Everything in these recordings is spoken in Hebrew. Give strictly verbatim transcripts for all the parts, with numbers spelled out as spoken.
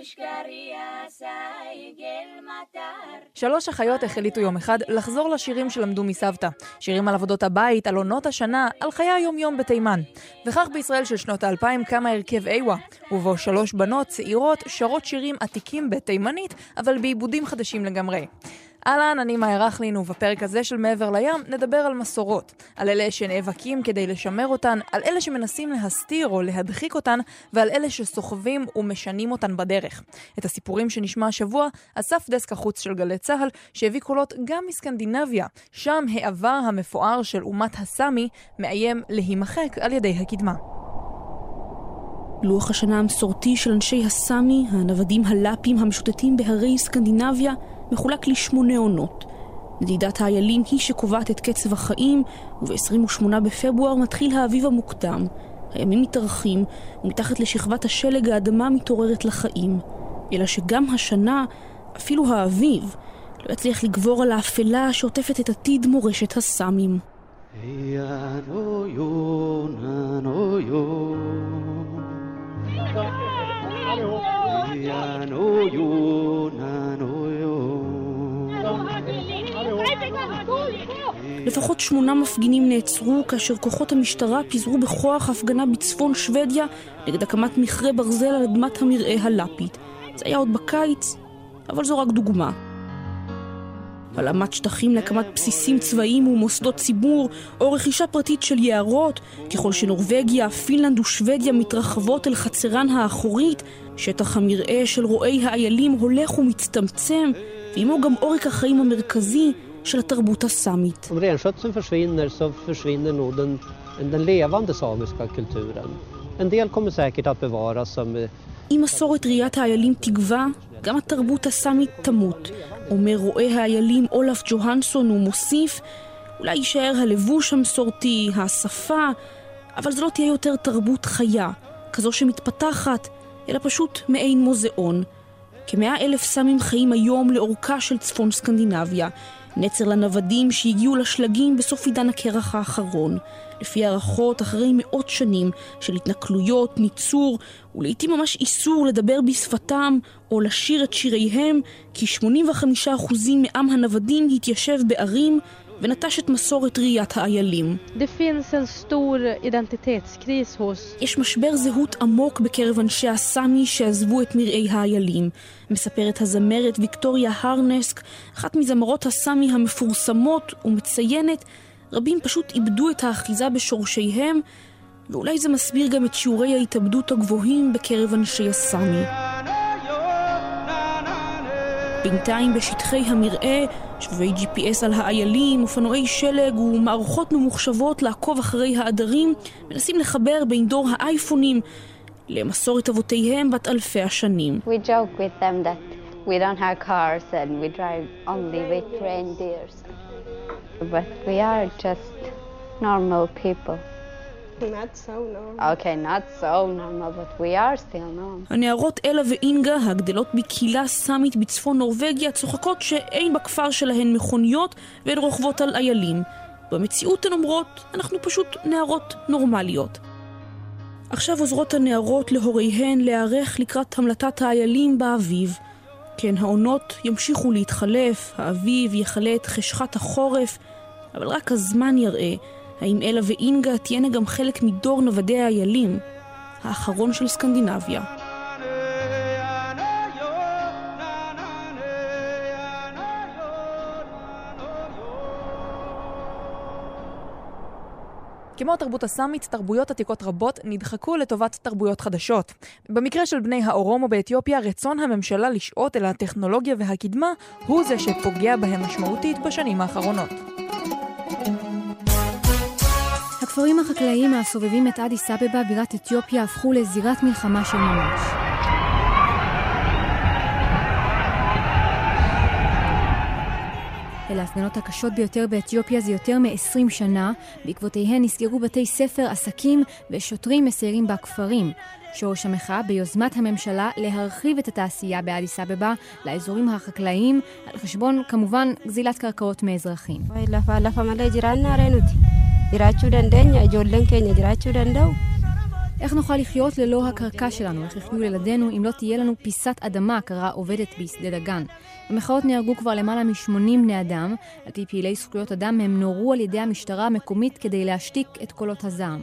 שלוש אחיות החליטו יום אחד לחזור לשירים שלמדו מסבתא. שירים על עבודות הבית, על עונות השנה, על חיי היום-יום בתימן. וכך בישראל של שנות האלפיים קמה הרכב איווה, ובו שלוש בנות צעירות שרות שירים עתיקים בתימנית, אבל בעיבודים חדשים לגמרי. אהלן, אני מאיה רכלין, ובפרק הזה של מעבר לים נדבר על מסורות, על אלה שנאבקים כדי לשמר אותן, על אלה שמנסים להסתיר או להדחיק אותן, ועל אלה שסוחבים ומשנים אותן בדרך. את הסיפורים שנשמע השבוע אסף דסק החוץ של גלי צהל, שהביא קולות גם מסקנדינביה, שם העבר המפואר של אומת הסמי מאיים להימחק על ידי הקדמה. לוח השנה המסורתי של אנשי הסמי, הנוודים הלאפים המשוטטים בהרי סקנדינביה, מחולק לשמונה עונות. נדידת האיילים היא שקובעת את קצב החיים, וב-עשרים ושמונה בפברואר מתחיל האביב המוקדם. הימים מתארכים, ומתחת לשכבת השלג האדמה מתעוררת לחיים. אלא שגם השנה, אפילו האביב, לא יצליח לגבור על האפלה שעוטפת את עתיד מורשת הסמים. לפחות שמונה מפגינים נעצרו כאשר כוחות המשטרה פיזרו בכוח הפגנה בצפון שוודיה נגד הקמת מכרה ברזל על אדמת המרעה הלאפית. זה היה עוד בקיץ, אבל זו רק דוגמה. הלאמת שטחים להקמת בסיסים צבאיים ומוסדות ציבור, או רכישה פרטית של יערות, ככל שנורווגיה, פינלנד ושוודיה מתרחבות אל חצרן האחורית, שטח המרעה של רועי האיילים הולך ומצטמצם, ועמו גם עורק החיים המרכזי של התרבות הסמית. Om renskötseln försvinner så försvinner nog den, den levande samiska kulturen. En del kommer säkert att bevaras som... אם מסורת ראיית האיילים תגווה, גם התרבות הסמית תמות. אומר רואה האיילים אולף ג'והנסון ומוסיף, אולי יישאר הלבוש המסורתי, השפה, אבל זו לא תהיה יותר תרבות חיה, כזו שמתפתחת, אלא פשוט מעין מוזיאון. כמאה אלף סמים חיים היום לאורכה של צפון סקנדינביה, נצר לנוודים שהגיעו לשלגים בסוף עידן הקרח האחרון. לפי הערכות, אחרי מאות שנים של התנכלויות, ניצור, ולעיתים ממש איסור לדבר בשפתם או לשיר את שיריהם, כי שמונים וחמישה אחוז מעם הנוודים התיישב בערים ונטש את מסורת ראיית האיילים. יש משבר זהות עמוק בקרב אנשי הסמי שעזבו את מרעי האיילים. מספרת הזמרת ויקטוריה הרנסק, אחת מזמרות הסמי המפורסמות, ומציינת, רבים פשוט איבדו את האחיזה בשורשיהם, ואולי זה מסביר גם את שיעורי ההתאבדות הגבוהים בקרב אנשי הסמי. בינתיים בשטחי המרעה, שבבי ג'י פי אס על האיילים, אופנועי שלג ומערכות ממוחשבות לעקוב אחרי העדרים, מנסים לחבר בין דור האייפונים למסורת אבותיהם בת אלפי השנים. We joke with them that we don't have cars and we drive only with reindeers. But we are just normal people. Not so normal. Okay, not so normal, but we are still normal. הנערות אלה ואינגה, הגדלות בקהילה סמית בצפון נורווגיה, צוחקות שאין בכפר שלהן מכוניות והן רוכבות על איילים. במציאות הן אומרות, אנחנו פשוט נערות נורמליות. עכשיו עוזרות הנערות להוריהן להיערך לקראת המלטת האיילים באביב. כן, העונות ימשיכו להתחלף, האביב יחלה את חשכת החורף, אבל רק הזמן יראה האם אלה ואינגה תהיינה גם חלק מדור נוודי האיילים, האחרון של סקנדינביה. כמו תרבות הסמית, תרבויות עתיקות רבות נדחקו לטובת תרבויות חדשות. במקרה של בני האורומו באתיופיה, רצון הממשלה לשעות אל הטכנולוגיה והקדמה הוא זה שפוגע בהם משמעותית בשנים האחרונות. הכפרים החקלאיים הסובבים את אדיס אבבה בירת אתיופיה הפכו לזירת מלחמה של ממש. אלה ההפגנות הקשות ביותר באתיופיה זה יותר מ-עשרים שנה. בעקבותיהן נסגרו בתי ספר, עסקים ושוטרים מסיירים בכפרים. שורש המחאה ביוזמת הממשלה להרחיב את התעשייה באדיס אבבה לאזורים החקלאיים, על חשבון כמובן גזילת קרקעות מאזרחים. איך נוכל לחיות ללא הקרקע שלנו? איך יחיו ילדינו אם לא תהיה לנו פיסת אדמה, קרה עובדת בשדה דגן? במחאות נהרגו כבר למעלה מ-שמונים בני אדם. על פי פעילי זכויות אדם הם נורו על ידי המשטרה המקומית כדי להשתיק את קולות הזעם.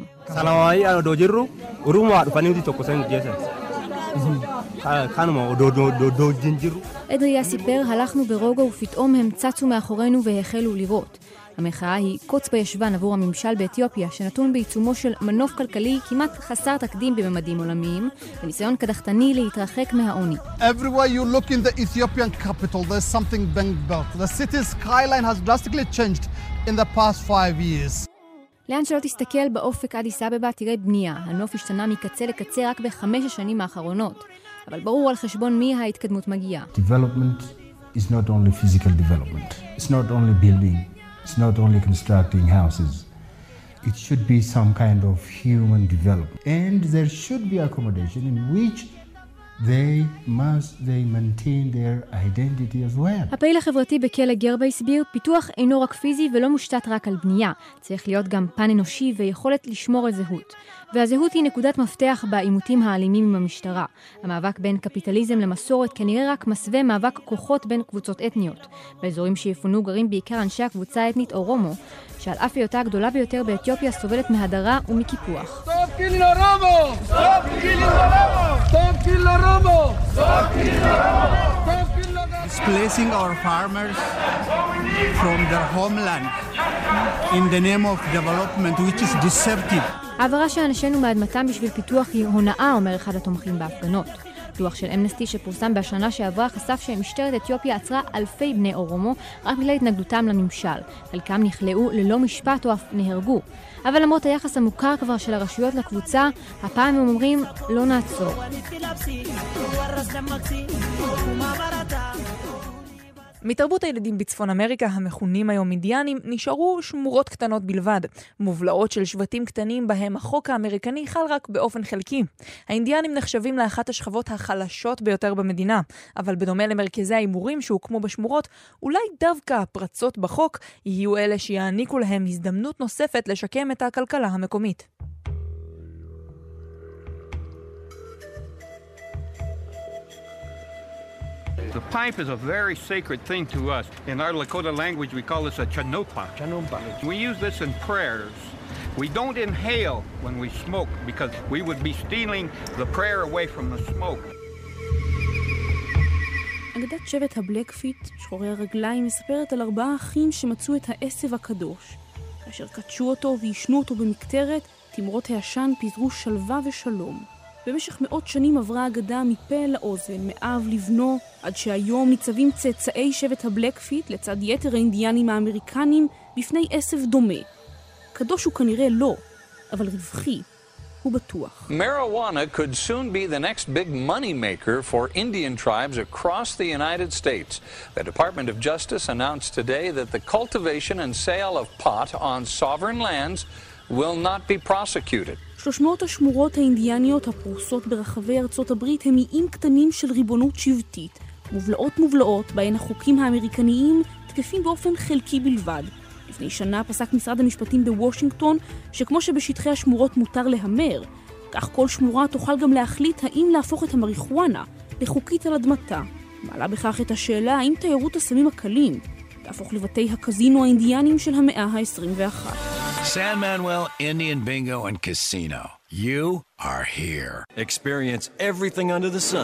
אדריה סיפר, הלכנו ברוגע ופתאום הם צצו מאחורינו והחלו לירות. המחאה היא קוץ בישבן עבור הממשל באתיופיה, שנתון בעיצומו של מנוף כלכלי כמעט חסר תקדים בממדים עולמיים, בניסיון קדחתני להתרחק מהעוני. Everywhere you look in the Ethiopian capital, there's something being built. The city's skyline has drastically changed in the past five years. לאן שלא תסתכל באופק אדיס אבבה תראה בנייה. הנוף השתנה מקצה לקצה רק בחמש השנים האחרונות. אבל ברור על חשבון מי ההתקדמות מגיעה. Development is not only physical development. It's not only building. It's not only constructing houses. It should be some kind of human development. And there should be accommodation in which they must they maintain their identity as well. הפעיל החברתי בכלא גרבה הסביר, פיתוח אינו רק פיזי ולא מושתת רק על בנייה. צריך להיות גם פן אנושי ויכולת לשמור על זהות. והזהות היא נקודת מפתח בעימותים האלימים עם המשטרה. המאבק בין קפיטליזם למסורת כנראה רק מסווה מאבק כוחות בין קבוצות אתניות. באזורים שיפונו גרים בעיקר אנשי הקבוצה האתנית אורומו, שעל אף היותה הגדולה ביותר באתיופיה סובלת מהדרה ומקיפוח. Stop killing Oromo! Stop killing Oromo! Stop killing Oromo! Stop killing Oromo! Stop killing Oromo! Displacing our farmers from their homeland in the name of development, which is deceptive. העברה שאנשינו מאדמתם בשביל פיתוח היא הונאה, אומר אחד התומכים בהפגנות. דוח של אמנסטי שפורסם בשנה שעברה חשף שמשטרת אתיופיה עצרה אלפי בני אורומו רק בגלל התנגדותם לממשל. חלקם נכלאו ללא משפט או אף נהרגו. אבל למרות היחס המוכר כבר של הרשויות לקבוצה, הפעם הם אומרים לא נעצור. מתרבות הילדים בצפון אמריקה, המכונים היום אינדיאנים, נשארו שמורות קטנות בלבד, מובלעות של שבטים קטנים בהם החוק האמריקני חל רק באופן חלקי. האינדיאנים נחשבים לאחת השכבות החלשות ביותר במדינה, אבל בדומה למרכזי האימורים שהוקמו בשמורות, אולי דווקא הפרצות בחוק יהיו אלה שיעניקו להם הזדמנות נוספת לשקם את הכלכלה המקומית. The pipe is a very sacred thing to us. In our Lakota language, we call this a chanopa. Chanopa. We use this in prayers. We don't inhale when we smoke because we would be stealing the prayer away from the smoke. אגדת שבט הבלקפיט, שחורי הרגליים, מספרת על ארבעה אחים שמצאו את העשב הקדוש. כאשר קדשו אותו וישנו אותו במקטרת, תמרות העשן פיזרו שלווה ושלום. במשך מאות שנים עברה האגדה מפה לאוזן, מאב לבנו, עד שהיום ניצבים צאצאי שבט הבלקפיט לצד יתר האינדיאנים האמריקנים בפני עשב דומה. קדוש הוא כנראה לא, אבל רווחי, הוא בטוח. Marijuana could soon be the next big money maker for Indian tribes across the United States. The Department of Justice announced today that the cultivation and sale of pot on sovereign lands will not be prosecuted. שלוש מאות השמורות האינדיאניות הפרוסות ברחבי ארצות הברית הם איים קטנים של ריבונות שבטית, מובלעות מובלעות בהן החוקים האמריקניים תקפים באופן חלקי בלבד. לפני שנה פסק משרד המשפטים בוושינגטון שכמו שבשטחי השמורות מותר להמר, כך כל שמורה תוכל גם להחליט האם להפוך את המריחואנה לחוקית על אדמתה. מעלה בכך את השאלה האם תיירות הסמים הקלים תהפוך לבתי הקזינו האינדיאנים של המאה ה-עשרים ואחת. San Manuel Indian Bingo and Casino. You are here. Experience everything under the sun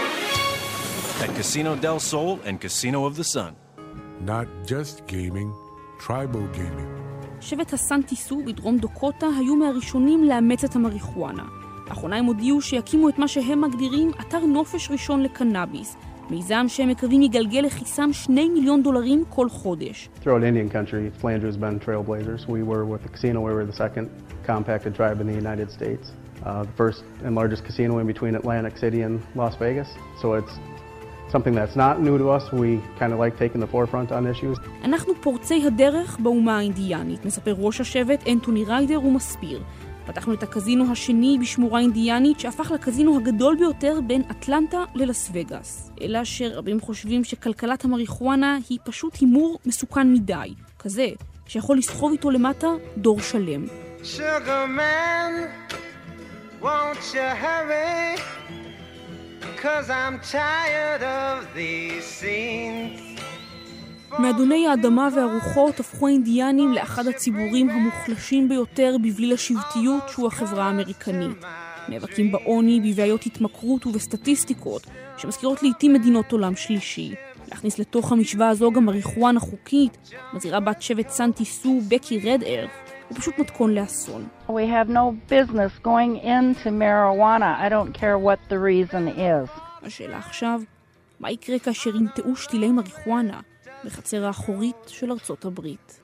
at Casino del Sol and Casino of the Sun. Not just gaming, tribal gaming. שבט הסנטיסו בדרום דוקוטה היו מהראשונים לאמץ את המריחואנה. לאחרונה הם הודיעו שיקימו את מה שהם מגדירים אתר נופש ראשון לקנאביס. מיזם שהם מקווים יגלגל לכיסם שני מיליון דולרים כל חודש. Throughout Indian country, Flanders has been trailblazers. We were with the casino, we were the second compacted tribe in the United States. Uh, the first and largest casino in between Atlantic City and Las Vegas. So it's something that's not new to us. We kind of like taking the forefront on issues. אנחנו פורצי הדרך באומה האינדיאנית, מספר ראש השבט אנטוני ריידר ומסביר. פתחנו את הקזינו השני בשמורה אינדיאנית שהפך לקזינו הגדול ביותר בין אטלנטה ללס וגאס. אלא שרבים חושבים שכלכלת המריחואנה היא פשוט הימור מסוכן מדי, כזה שיכול לסחוב איתו למטה דור שלם. Sugar man, Won't you hurry? 'Cause I'm tired of these scenes. מאדוני האדמה והרוחות הפכו האינדיאנים לאחד הציבורים המוחלשים ביותר בבליל השבטיות שהוא החברה האמריקנית. נאבקים בעוני, בבעיות התמכרות ובסטטיסטיקות שמזכירות לעתים מדינות עולם שלישי. להכניס לתוך המשוואה הזו גם מריחואנה חוקית, מזהירה בת שבט סנטי סו, בקי רד ארף, הוא פשוט מתכון לאסון. We have no business going into marijuana. I don't care what the reason is. השאלה עכשיו, מה יקרה כאשר ינטעו שתילי מריחואנה בחצר האחורית של ארצות הברית?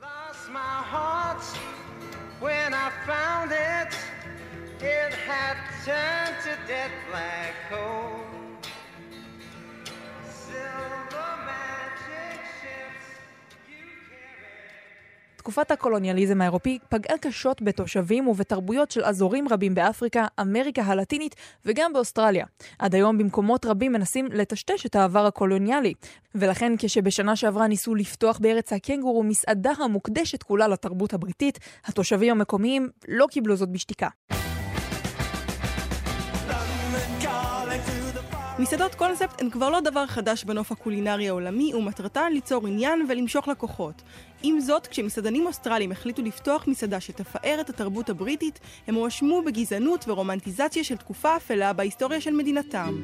When I found it, it had turned to dead black coal. Silver magic ships you carry. תקופת הקולוניאליזם האירופי פגעה קשות בתושבים ובתרבויות של אזורים רבים באפריקה, אמריקה הלטינית וגם באוסטרליה. עד היום במקומות רבים מנסים לטשטש את העבר הקולוניאלי, ולכן כשבשנה שעברה ניסו לפתוח בארץ הקנגורו מסעדה המוקדשת כולה לתרבות הבריטית, התושבים המקומיים לא קיבלו זאת בשתיקה. מסעדות קונספט הן כבר לא דבר חדש בנוף הקולינרי העולמי, ומטרתן ליצור עניין ולמשוך לקוחות. עם זאת, כשמסעדנים אוסטרליים החליטו לפתוח מסעדה שתפאר את התרבות הבריטית, הם הואשמו בגזענות ורומנטיזציה של תקופה אפלה בהיסטוריה של מדינתם.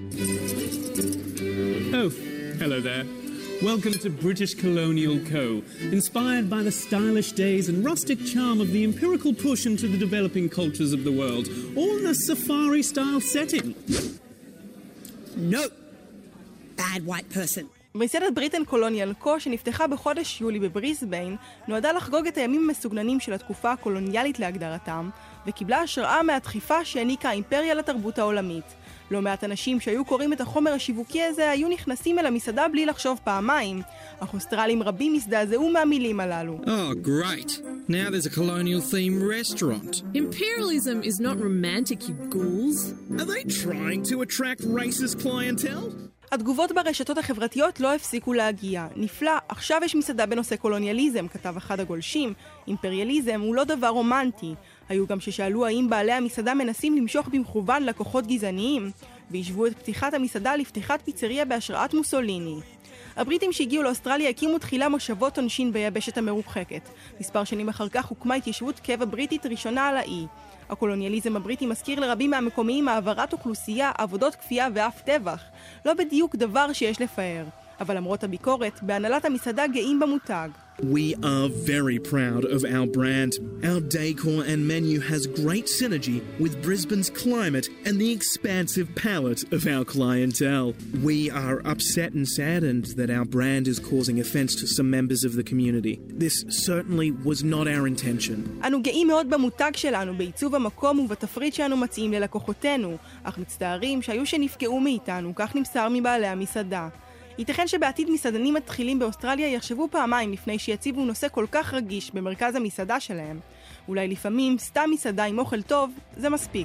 Oh, hello there. Welcome to British Colonial Co. Inspired by the stylish days and rustic charm of the empirical push into the developing cultures of the world, all in a safari-style setting. No. Bad white person. מסעדת בריטן קולוניאל קו, שנפתחה בחודש יולי בבריסביין, נועדה לחגוג את הימים המסוגננים של התקופה הקולוניאלית להגדרתם, וקיבלה השראה מהדחיפה שהעניקה האימפריה לתרבות העולמית. לא מעט אנשים שהיו קוראים את החומר השיווקי הזה היו נכנסים אל המסעדה בלי לחשוב פעמיים, אך אוסטרלים רבים הזדעזעו מהמילים הללו. Oh, great. Now there's a colonial themed restaurant. Imperialism is not romantic, you ghouls. Are they trying to attract racist clientele? התגובות ברשתות החברתיות לא הפסיקו להגיע. נפלא, עכשיו יש מסעדה בנושא קולוניאליזם, כתב אחד הגולשים. אימפריאליזם הוא לא דבר רומנטי. היו גם ששאלו האם בעלי המסעדה מנסים למשוך במכוון לקוחות גזעניים, והשוו את פתיחת המסעדה לפתיחת פיצריה בהשראת מוסוליני. הבריטים שהגיעו לאוסטרליה הקימו תחילה מושבות עונשין ביבשת המרוחקת. מספר שנים אחר כך הוקמה התיישבות קבע בריטית ראשונה על האי. הקולוניאליזם הבריטי מזכיר לרבים מהמקומיים העברת אוכלוסייה, עבודות כפייה ואף טבח. לא בדיוק דבר שיש לפאר. אבל למרות הביקורת, בהנהלת המסעדה גאים במותג. We are very proud of our brand. Our decor and menu has great synergy with Brisbane's climate and the expansive palate of our clientele. We are upset and saddened that our brand is causing offense to some members of the community. This certainly was not our intention. אנו גאים מאוד במותג שלנו, בעיצוב המקום ובתפריט שאנו מציעים ללקוחותינו, אך מצטערים שהיו שנפגעו מאיתנו, כך נמסר מבעלי המסעדה. ייתכן שבעתיד מסעדנים מתחילים באוסטרליה יחשבו פעמיים לפני שיציבו נושא כל כך רגיש במרכז המסעדה שלהם. אולי לפעמים סתם מסעדה עם אוכל טוב זה מספיק.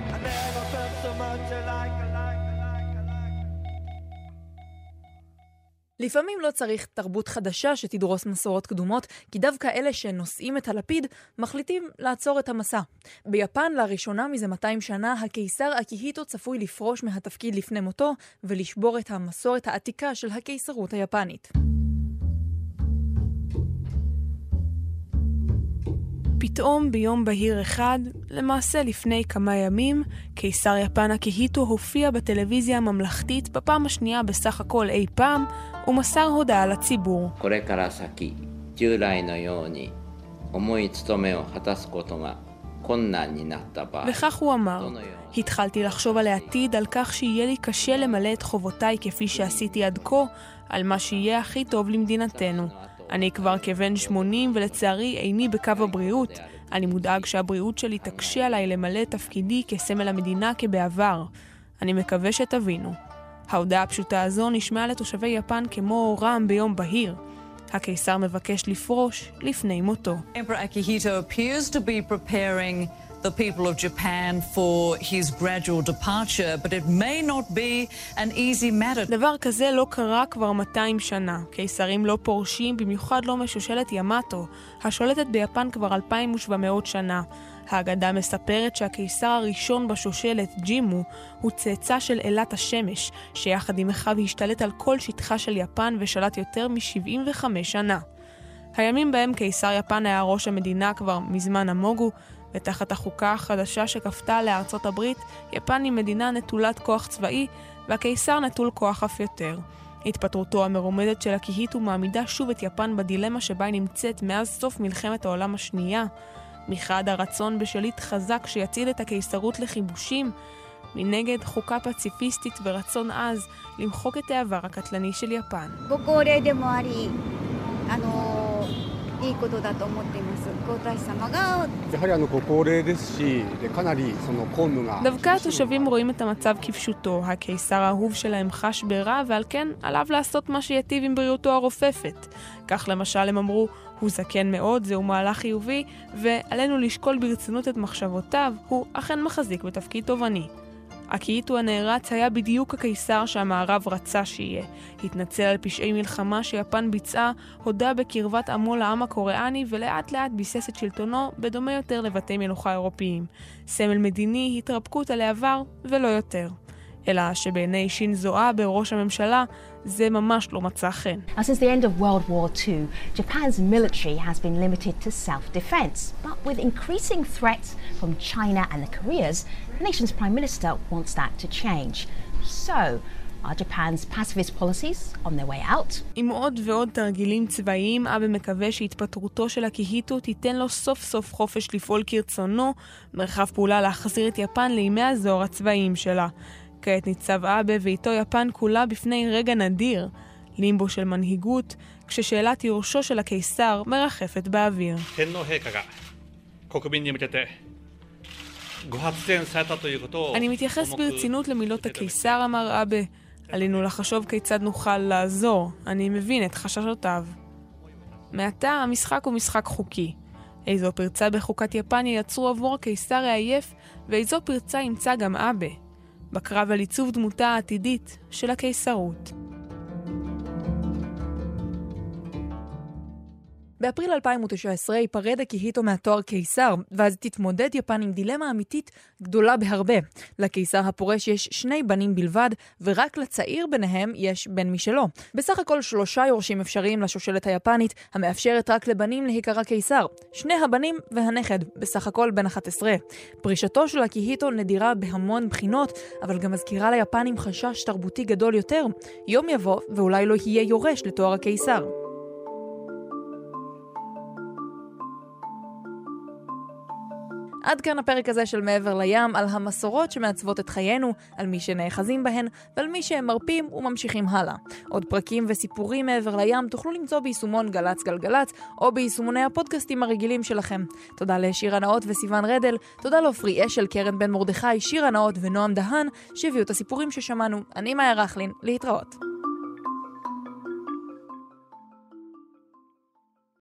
לפעמים לא צריך תרבות חדשה שתדרוס מסורות קדומות, כי דווקא אלה שנושאים את הלפיד מחליטים לעצור את המסע. ביפן לראשונה מזה מאתיים שנה הקיסר אקיהיטו צפוי לפרוש מהתפקיד לפני מותו ולשבור את המסורת העתיקה של הקיסרות היפנית. פתאום ביום בהיר אחד, למעשה לפני כמה ימים, קיסר יפן אקיהיטו הופיע בטלוויזיה הממלכתית בפעם השנייה בסך הכל אי פעם, ומסר הודעה לציבור. וכך הוא אמר, התחלתי לחשוב על העתיד, על כך שיהיה לי קשה למלא את חובותיי כפי שעשיתי עד כה, על מה שיהיה הכי טוב למדינתנו. אני כבר כבן שמונים ולצערי איני בקו הבריאות. אני מודאג שהבריאות שלי תקשה עליי למלא את תפקידי כסמל המדינה כבעבר. אני מקווה שתבינו. ההודעה הפשוטה הזו נשמעה לתושבי יפן כמו רעם ביום בהיר. הקיסר מבקש לפרוש לפני מותו. Emperor Akihito appears to be preparing the people of Japan for his gradual departure, but it may not be an easy matter. דבר כזה לא קרה כבר מאתיים שנה. קיסרים לא פורשים, במיוחד לא משושלת ימאטו, השולטת ביפן כבר אלפיים ושבע מאות שנה. האגדה מספרת שהקיסר הראשון בשושלת, ג'ימו, הוא צאצא של אלת השמש, שיחד עם אחיו השתלט על כל שטחה של יפן ושלט יותר מ-שבעים וחמש שנה. הימים בהם קיסר יפן היה ראש המדינה כבר מזמן המוגו, ותחת החוקה החדשה שכפתה לארצות הברית, יפן היא מדינה נטולת כוח צבאי, והקיסר נטול כוח אף יותר. התפטרותו המרומדת של הקיהיטו מעמידה שוב את יפן בדילמה שבה היא נמצאת מאז סוף מלחמת העולם השנייה. מחד הרצון בשליט חזק שיציל את הקיסרות לחיבושים, מנגד חוקה פציפיסטית ורצון עז למחוק את העבר הקטלני של יפן. דווקא התושבים רואים את המצב כפשוטו. הקיסר האהוב שלהם חש ברע, ועל כן עליו לעשות מה שיטיב עם בריאותו הרופפת. כך למשל הם אמרו, הוא זקן מאוד, זהו מהלך חיובי, ועלינו לשקול ברצינות את מחשבותיו, הוא אכן מחזיק בתפקיד תובעני. הקיהיטו הנערץ היה בדיוק הקיסר שהמערב רצה שיהיה. התנצל על פשעי מלחמה שיפן ביצעה, הודה בקרבת עמו לעם הקוריאני ולאט לאט ביסס את שלטונו בדומה יותר לבתי מלוכה אירופיים. סמל מדיני, התרפקות על העבר ולא יותר. אלא שבעיני שינזו אבה בראש הממשלה זה ממש לא מצא חן. Since the end of World War Two, Japan's military has been limited to self-defense. But with increasing threats from China and the Koreas, the nation's prime minister wants that to change. So, are Japan's pacifist policies on their way out? עם עוד ועוד תרגילים צבאיים, אבה מקווה שהתפטרותו של הקיהיטו תיתן לו סוף סוף חופש לפעול כרצונו, מרחב פעולה להחזיר את יפן לימי הזוהר הצבאיים שלה. כעת ניצב אבה ואיתו יפן כולה בפני רגע נדיר, לימבו של מנהיגות, כששאלת יורשו של הקיסר מרחפת באוויר. אני מתייחס ברצינות למילות הקיסר, אמר אבה. עלינו לחשוב כיצד נוכל לעזור. אני מבין את חששותיו. מעתה המשחק הוא משחק חוקי. איזו פרצה בחוקת יפן ייצרו עבור הקיסר העייף, ואיזו פרצה ימצא גם אבה. בקרב על עיצוב דמותה העתידית של הקיסרות. באפריל אלפיים ותשע עשרה ייפרד הקיהיטו מהתואר קיסר, ואז תתמודד יפן עם דילמה אמיתית גדולה בהרבה. לקיסר הפורש יש שני בנים בלבד, ורק לצעיר ביניהם יש בן משלו. בסך הכל שלושה יורשים אפשריים לשושלת היפנית, המאפשרת רק לבנים להיקרא קיסר. שני הבנים והנכד, בסך הכל בן אחת עשרה. פרישתו של הקיהיטו נדירה בהמון בחינות, אבל גם מזכירה ליפנים חשש תרבותי גדול יותר. יום יבוא ואולי לא יהיה יורש לתואר הקיסר. עד כאן הפרק הזה של מעבר לים, על המסורות שמעצבות את חיינו, על מי שנאחזים בהן, ועל מי שהם מרפים וממשיכים הלאה. עוד פרקים וסיפורים מעבר לים תוכלו למצוא ביישומון גלץ גלגלץ, או ביישומוני הפודקאסטים הרגילים שלכם. תודה לשירה נאות וסיוון רדל, תודה לאופרי אשל, קרן בן מרדכי, שירה נאות ונועם דהן, שהביאו את הסיפורים ששמענו. אני מאיה רכלין, להתראות.